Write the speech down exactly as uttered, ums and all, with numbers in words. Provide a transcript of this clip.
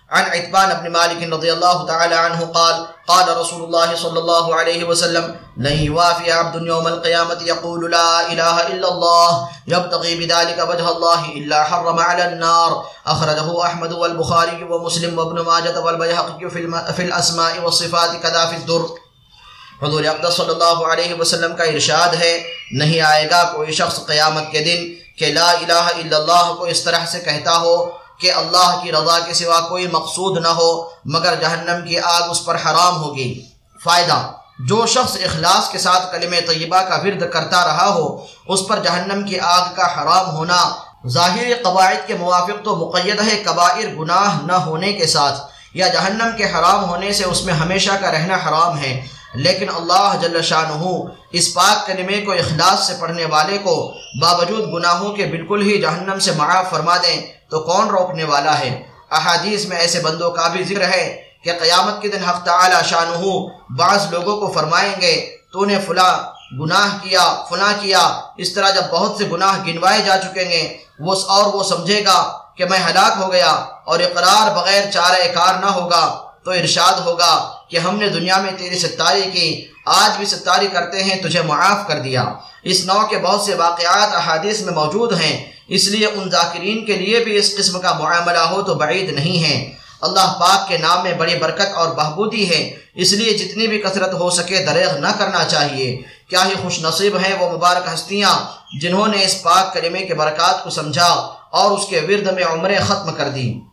عن عتبان بن مالك رضي الله تعالى عنه قال قال رسول الله صلى الله عليه وسلم لن يوافي عبد يوم القيامة يقول لا إله إلا الله يبتغي بذلك وجه الله إلا حرم على النار أخرجه أحمد والبخاري ومسلم وابن ماجة والبيهقي في الأسماء والصفات كذا في الدر۔ حضور اقدس صلی اللہ علیہ وسلم کا ارشاد ہے، نہیں آئے گا کوئی شخص قیامت کے دن کہ لا الہ الا اللہ کو اس طرح سے کہتا ہو کہ اللہ کی رضا کے سوا کوئی مقصود نہ ہو مگر جہنم کی آگ اس پر حرام ہوگی۔ فائدہ: جو شخص اخلاص کے ساتھ کلمہ طیبہ کا ورد کرتا رہا ہو اس پر جہنم کی آگ کا حرام ہونا ظاہری قواعد کے موافق تو مقید ہے کبائر گناہ نہ ہونے کے ساتھ، یا جہنم کے حرام ہونے سے اس میں ہمیشہ کا رہنا حرام ہے، لیکن اللہ جل شانہ اس پاک کلمے کو اخلاص سے پڑھنے والے کو باوجود گناہوں کے بالکل ہی جہنم سے معاف فرما دیں تو کون روکنے والا ہے۔ احادیث میں ایسے بندوں کا بھی ذکر ہے کہ قیامت کے دن حق تعالی شانہ بعض لوگوں کو فرمائیں گے تو نے فلاں گناہ کیا فلاں کیا، اس طرح جب بہت سے گناہ گنوائے جا چکیں گے وہ اور وہ سمجھے گا کہ میں ہلاک ہو گیا اور اقرار بغیر چارہ کار نہ ہوگا، تو ارشاد ہوگا کہ ہم نے دنیا میں تیری ستاری کی، آج بھی ستاری کرتے ہیں، تجھے معاف کر دیا۔ اس نوع کے بہت سے واقعات احادیث میں موجود ہیں، اس لیے ان ذاکرین کے لیے بھی اس قسم کا معاملہ ہو تو بعید نہیں ہے۔ اللہ پاک کے نام میں بڑی برکت اور بہبودی ہے، اس لیے جتنی بھی کثرت ہو سکے دریغ نہ کرنا چاہیے۔ کیا ہی خوش نصیب ہیں وہ مبارک ہستیاں جنہوں نے اس پاک کلمے کے برکات کو سمجھا اور اس کے ورد میں عمریں ختم کر دی۔